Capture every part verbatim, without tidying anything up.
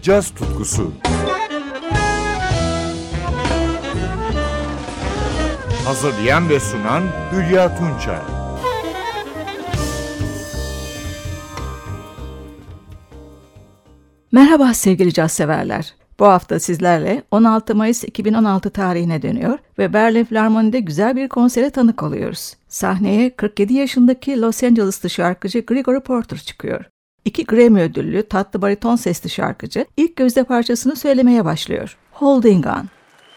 caz tutkusu. Hazırlayan ve sunan Hülya Tunçay. Merhaba sevgili caz severler. Bu hafta sizlerle on altı Mayıs iki bin on altı tarihine dönüyor ve Berlin Filarmoni'de güzel bir konsere tanık oluyoruz. Sahneye kırk yedi yaşındaki Los Angeles'lı şarkıcı Gregory Porter çıkıyor. İki Grammy ödüllü tatlı bariton sesli şarkıcı ilk gözde parçasını söylemeye başlıyor. Holding On.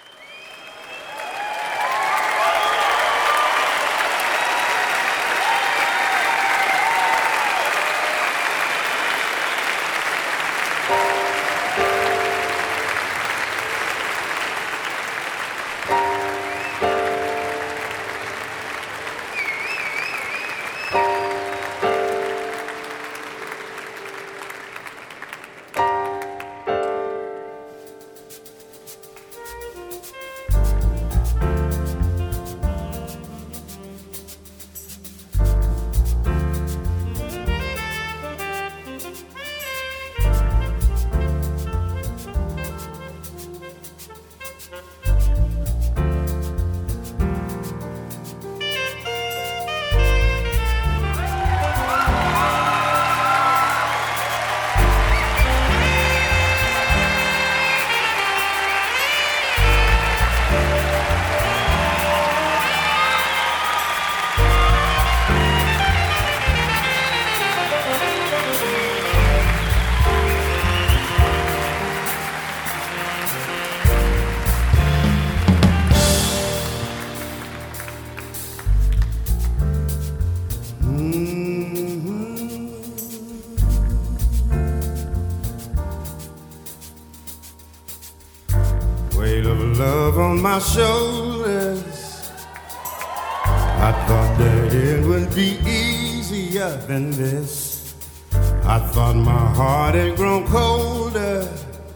Love on my shoulders, I thought that it would be easier than this. I thought my heart had grown colder,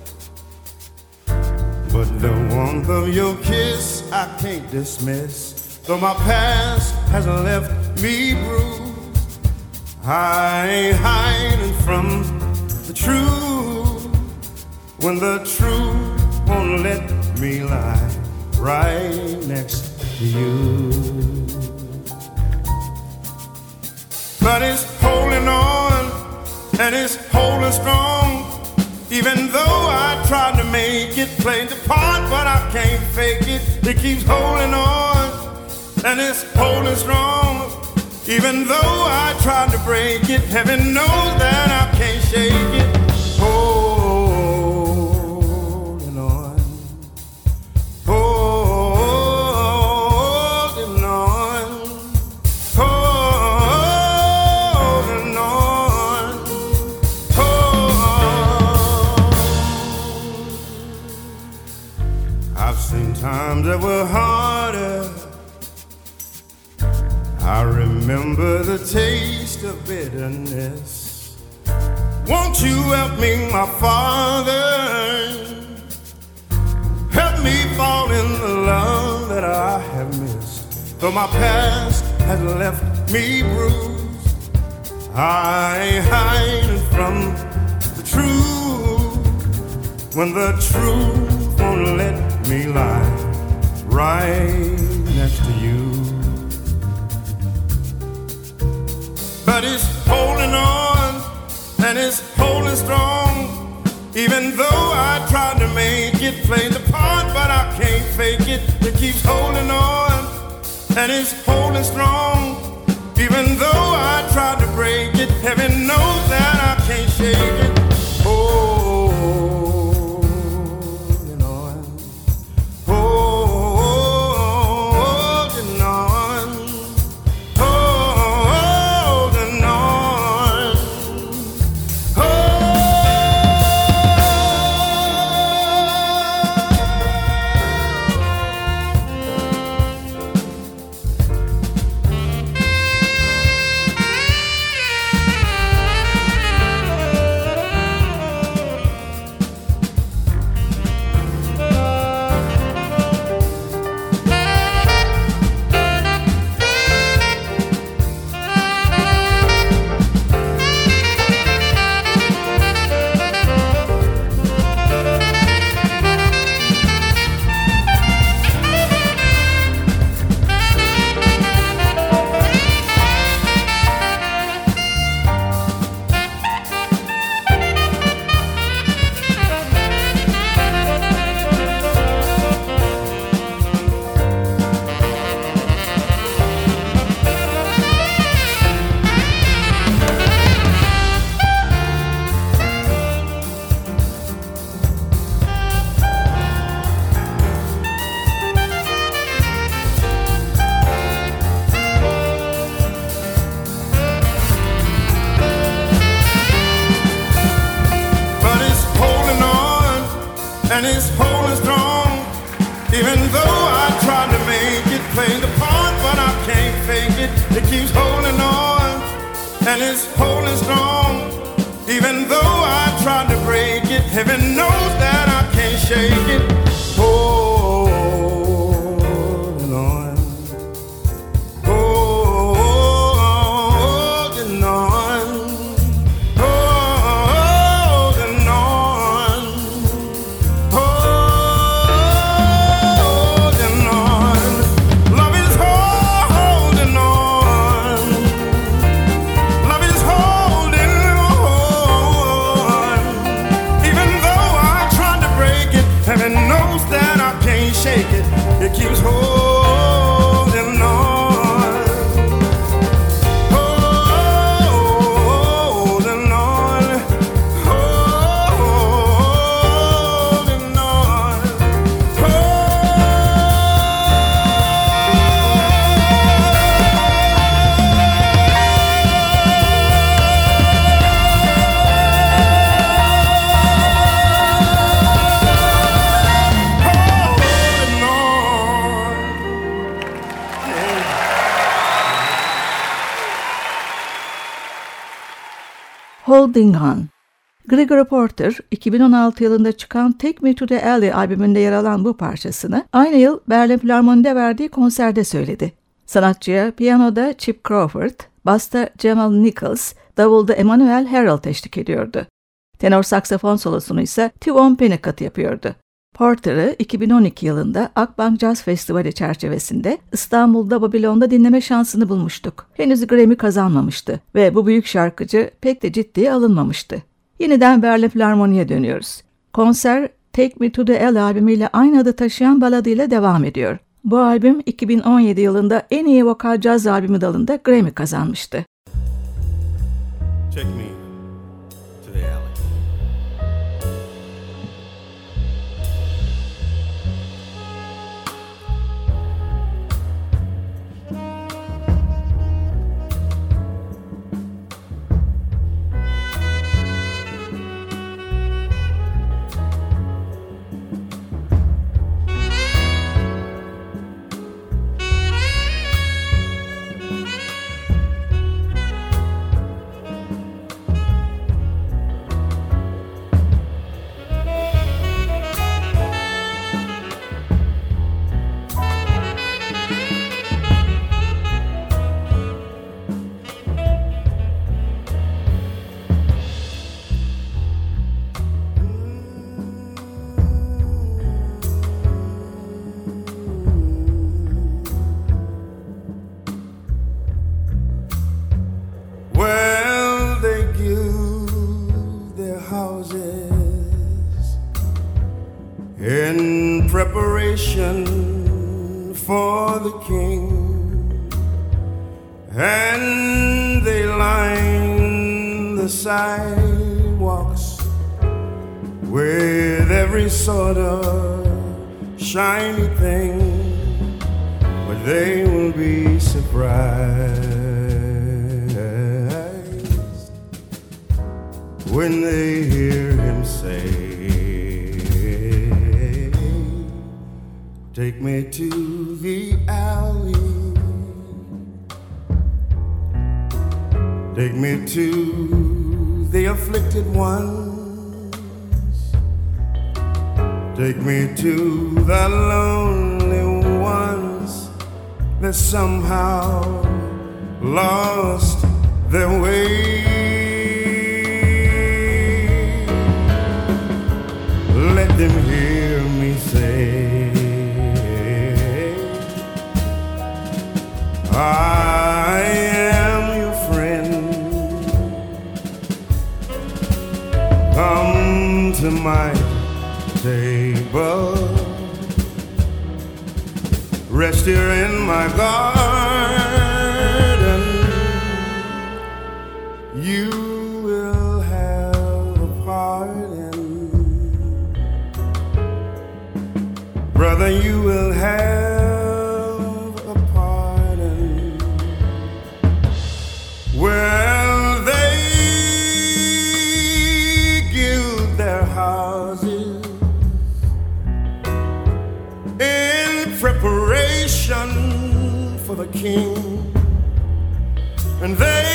but the warmth of your kiss I can't dismiss. Though my past has left me bruised, I ain't hiding from the truth. When the truth won't let me lie right next to you, but it's holding on and it's holding strong. Even though I tried to make it, play the part, but I can't fake it. It keeps holding on and it's holding strong. Even though I tried to break it, heaven knows that I can't shake it. Oh, times that were harder. I remember the taste of bitterness. Won't you help me, my Father? Help me fall in the love that I have missed. Though my past has left me bruised, I ain't hiding from the truth. When the truth won't let me lie right next to you, but it's holding on and it's holding strong. Even though I tried to make it, play the part, but I can't fake it. It keeps holding on and it's holding strong. Even though I tried to break it, heaven knows that I can't shake it. Oh, and it's holding strong. Even though I try to make it, play the part, but I can't fake it. It keeps holding on, and it's holding strong. Even though I try to break it, heaven knows that I can't shake it. Holding on, holding on, holding on, holding on. Love is holding on. Love is holding on. Even though I try to break it, heaven knows that I can't shake it. It keeps holding on, holding on, holding on, Holding On. Gregory Porter, iki bin on altı yılında çıkan Take Me to the Alley albümünde yer alan bu parçasını aynı yıl Berlin Filarmoni'de verdiği konserde söyledi. Sanatçıya piyanoda Chip Crawford, basta Jamal Nichols, davulda Emmanuel Harold eşlik ediyordu. Tenor saksafon solosunu ise Tivon Pennicott yapıyordu. Porter'ı iki bin on iki yılında Akbank Jazz Festivali çerçevesinde İstanbul'da Babilon'da dinleme şansını bulmuştuk. Henüz Grammy kazanmamıştı ve bu büyük şarkıcı pek de ciddiye alınmamıştı. Yeniden Berlin Filarmoni'ye dönüyoruz. Konser Take Me to the Alley albümüyle aynı adı taşıyan baladıyla devam ediyor. Bu albüm iki bin on yedi yılında en iyi vokal caz albümü dalında Grammy kazanmıştı. Take me to the alley. In preparation for the king, and they line the sidewalks with every sort of shiny thing, but they will be surprised when they hear him say, take me to the alley, take me to the afflicted ones, take me to the lonely ones that somehow lost their way. Let them hear me say, I am your friend. Come to my table, rest here in my garden. You will have a pardon, brother, you will have well, they gild their houses preparation for the king, and they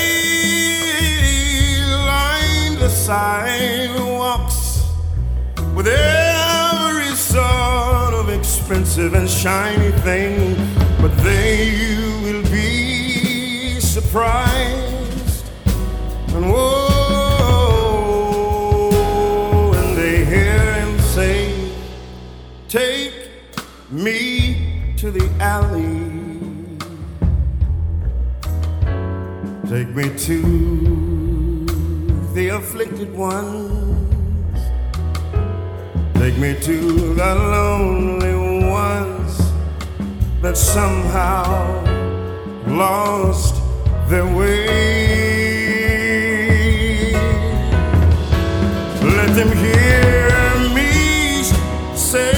line the sidewalks with every sort of expensive and shiny thing, but they will be surprised and whoa, when they hear him say, take me to the alley, take me to the afflicted ones, take me to the lonely ones that somehow lost their way. Let them hear me say,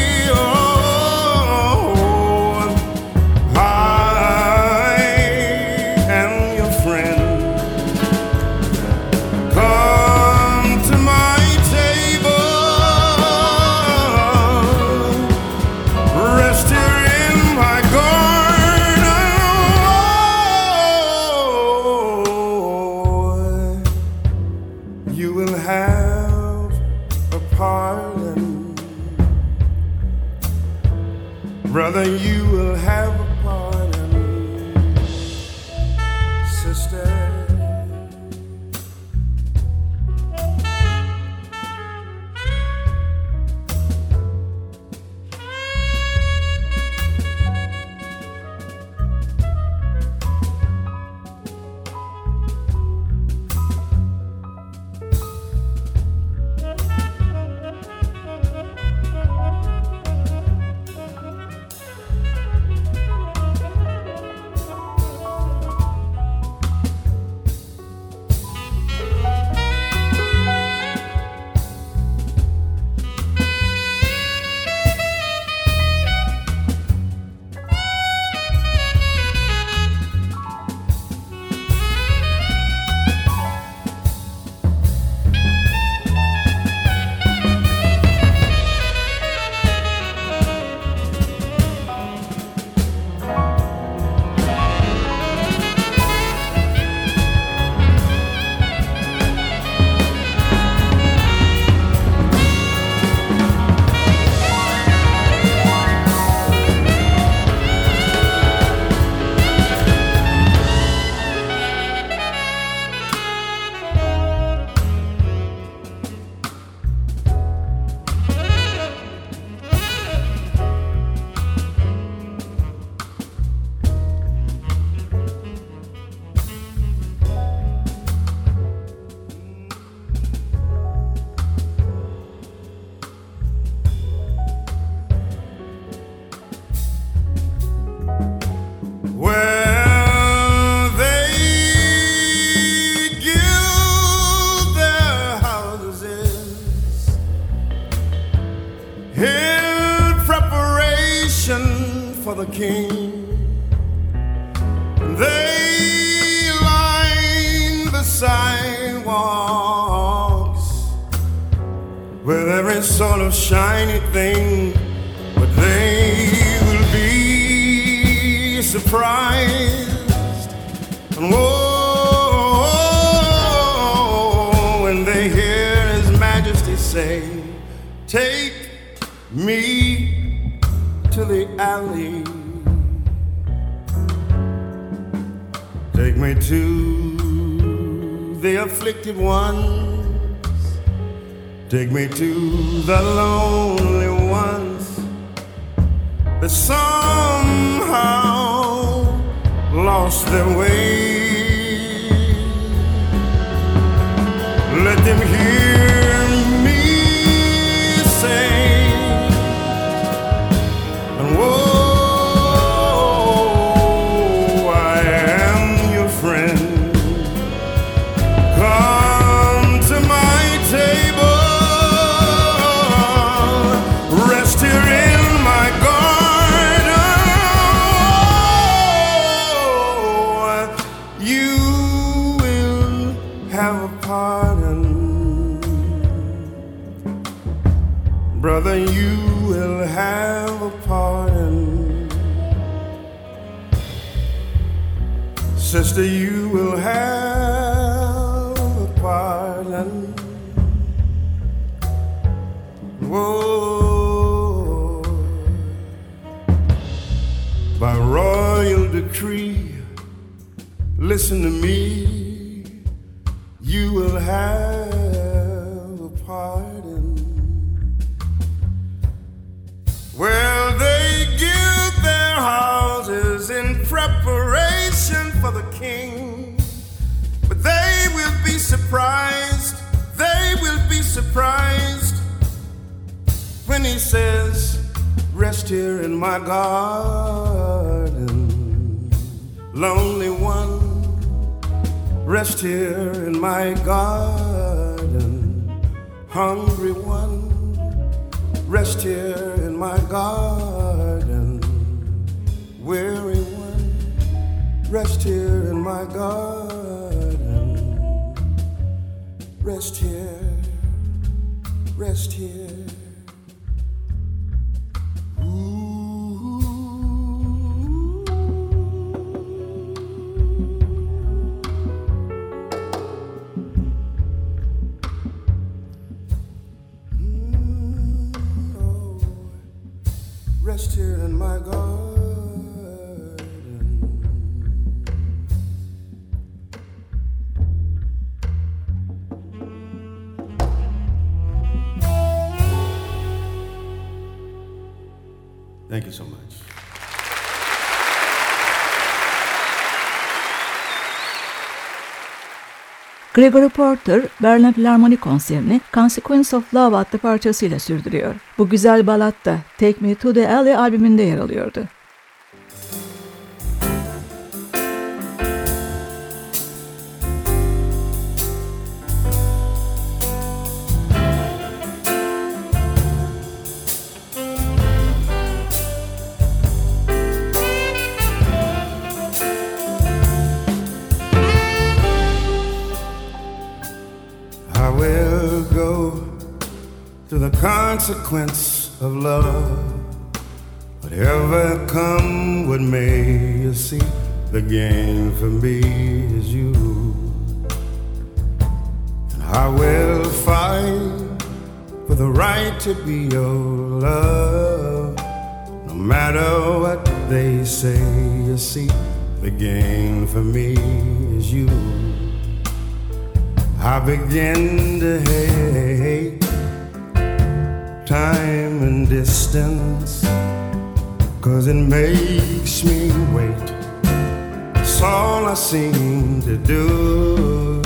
brother, you will have a pardon, sister. For the king, they line the sidewalks with every sort of shiny thing, but they will be surprised and whoa, when they hear His Majesty say, take me to the alley, take me to the afflicted ones, take me to the lonely ones that somehow lost their way. Let them hear me say, whoa, I am your friend. Come to my table, rest here in my garden. You will have a pardon, brother, you will have a pardon. sister, you will have a pardon. Whoa. By royal decree, listen to me, you will have a pardon. Well, they give their houses in preparation for the king, but they will be surprised, they will be surprised when he says, rest here in my garden, lonely one, rest here in my garden, hungry one, rest here in my garden, weary one, rest here in my garden, rest here, rest here. Rest here in my garden. Thank you so much. Gregory Porter, Berlin Filarmoni konserini Consequence of Love adlı parçasıyla sürdürüyor. Bu güzel balat da Take Me to the Alley albümünde yer alıyordu. To the consequence of love, whatever come what may, you see, the gain for me is you. And I will fight for the right to be your love, no matter what they say, you see, the gain for me is you. I begin to hate time and distance, 'cause it makes me wait. It's all I seem to do.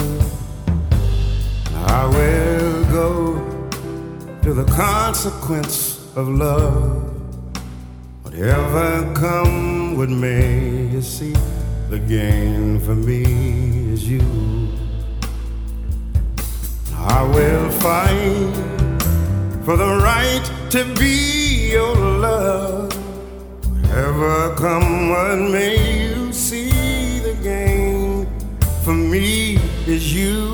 I will go to the consequence of love, whatever come what may, you see, the gain for me is you. I will fight for the right to be your love, whatever come what may, you see, the gain for me is you.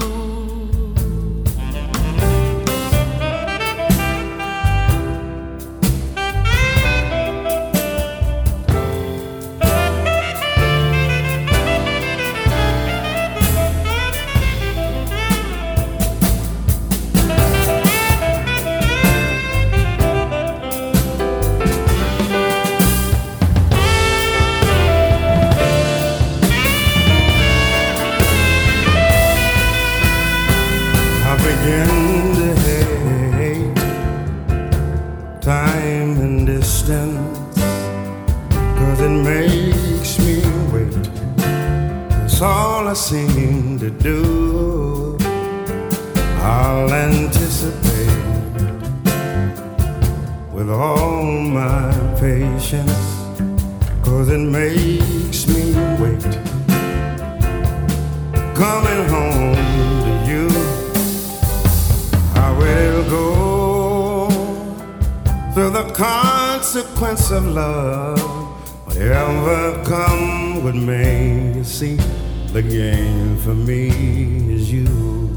Time and distance, 'cause it makes me wait. It's all I seem to do. I'll anticipate with all my patience, 'cause it makes me wait. Coming home to you, I will go through the consequence of love, whatever come what may, you see, the gain for me is you.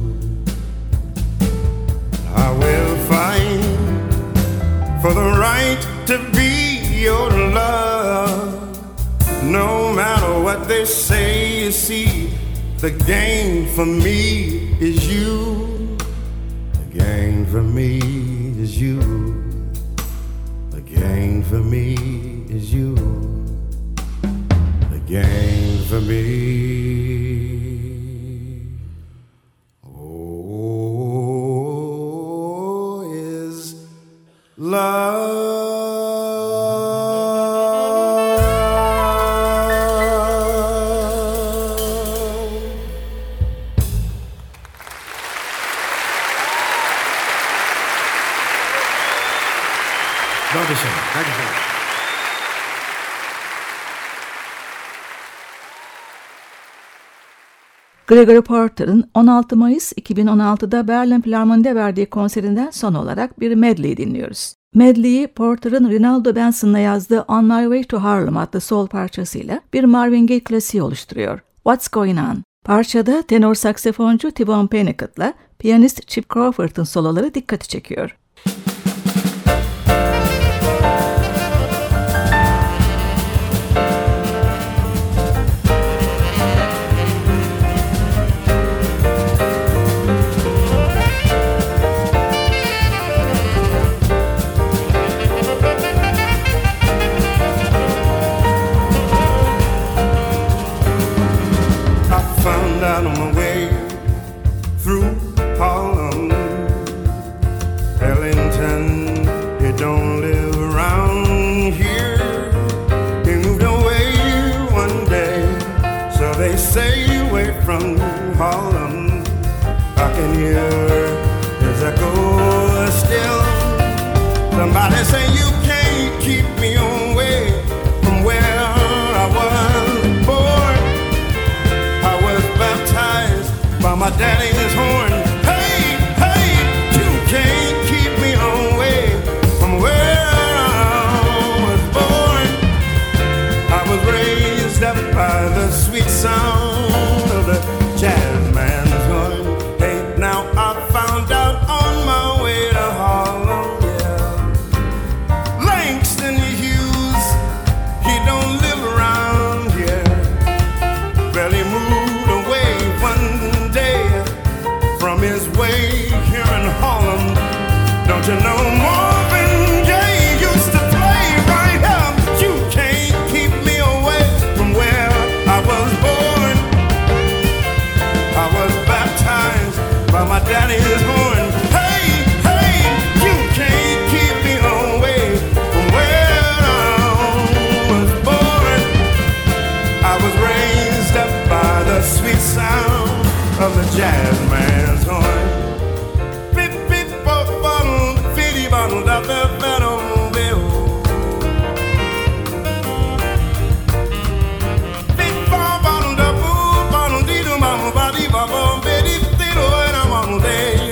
I will fight for the right to be your love, no matter what they say, you see, the gain for me is you. The gain for me is you. The gain for me is you. The gain for me, oh, is love. Dankeschön. Dankeschön. Gregory Porter'ın on altı Mayıs iki bin on altıda Berlin Filarmoni'de verdiği konserinden son olarak bir medley dinliyoruz. Medley'i Porter'ın Rinaldo Benson'la yazdığı On My Way to Harlem adlı sol parçasıyla bir Marvin Gaye klasiği oluşturuyor. What's Going On? Parçada tenor saksafoncu T-Bone Pennickett'la piyanist Chip Crawford'ın soloları dikkati çekiyor. On my way through Harlem, Ellington, you don't live around here. He moved away one day, so they say, away from Harlem. I can hear his echo still. Somebody say you can't keep me away from where I was born. By my daddy's horn. Hey, hey, you can't keep me away from where I was born. I was raised up by the sweet sound of the jazz man's horn. Hey, now I found out on my way to Harlem, yeah, Langston Hughes, he don't live around here. Well, he moved away one from his way here in Harlem. Don't you know Marvin Gaye used to play right here? You can't keep me away from where I was born. I was baptized by my daddy's horn. Hey, hey, you can't keep me away from where I was born. I was raised up by the sweet sound of the jazz man's horn. Beep, beep, bop, bottle, fitty bottle, da, da, da, da, bill. Beep, bop, bottle, da, boo, bottle, dee, do, mama, ba, dee, ba, ba, be, dee, dee, do, and I'm on day.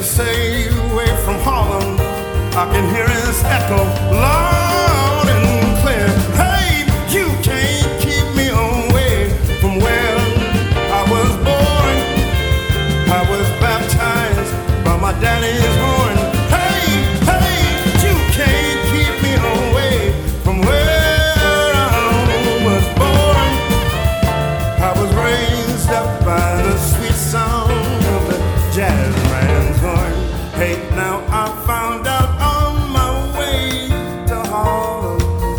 say away from Harlem, I can hear his echo loud and clear. Hey, you can't keep me away from where I was born. I was baptized by my daddy's horn. Hey, hey, you can't keep me away from where I was born. I was raised up by the sweet sound of the jazz man's horn. Hey, now I found out on my way to Harlem,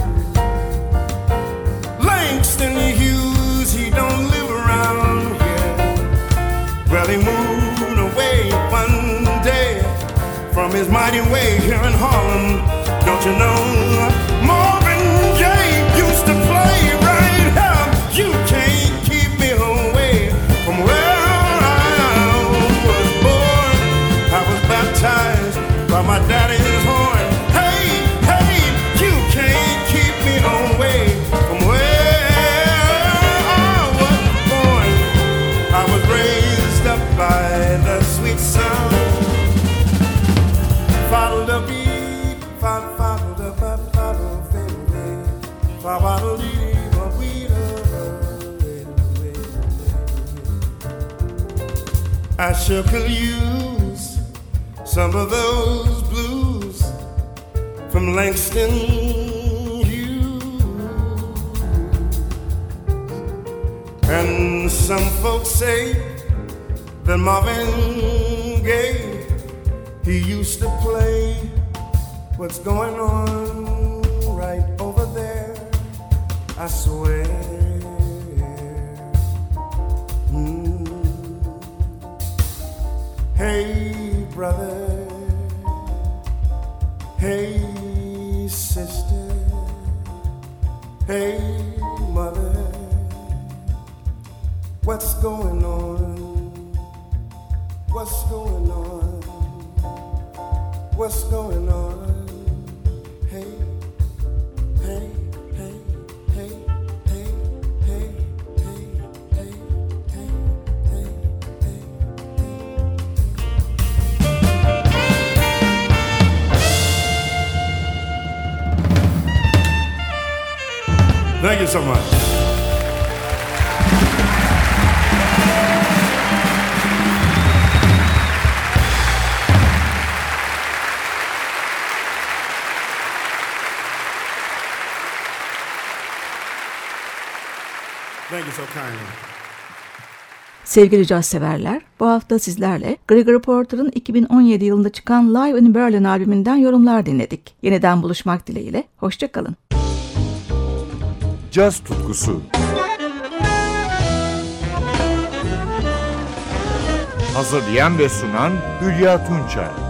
Langston Hughes, he don't live around here. Well, he moved away one day from his mighty way here in Harlem. Don't you know Marvin Gaye used to play right here? You can't keep me away from where I was born. I was baptized by my daddy's horn. Hey, hey, you can't keep me away from where I was born. I was raised up by the sweet sound. Follow the beat, follow, follow the beat, follow, follow, follow the beat. I sure could use some of those blues from Langston Hughes. And some folks say that Marvin Gaye, he used to play what's going on right over there, I swear. Mm. Hey, brother, hey, sister, hey, mother, what's going on? What's going on? What's going on? Hey, hey, hey, hey, hey, hey, hey, hey, hey, hey, hey. Thank you so much. Thank you so kindly. Sevgili caz severler, bu hafta sizlerle Gregory Porter'ın iki bin on yedi yılında çıkan Live in Berlin albümünden yorumlar dinledik. Yeniden buluşmak dileğiyle, hoşça kalın. Caz tutkusu. Hazırlayan ve sunan Hülya Tunçay.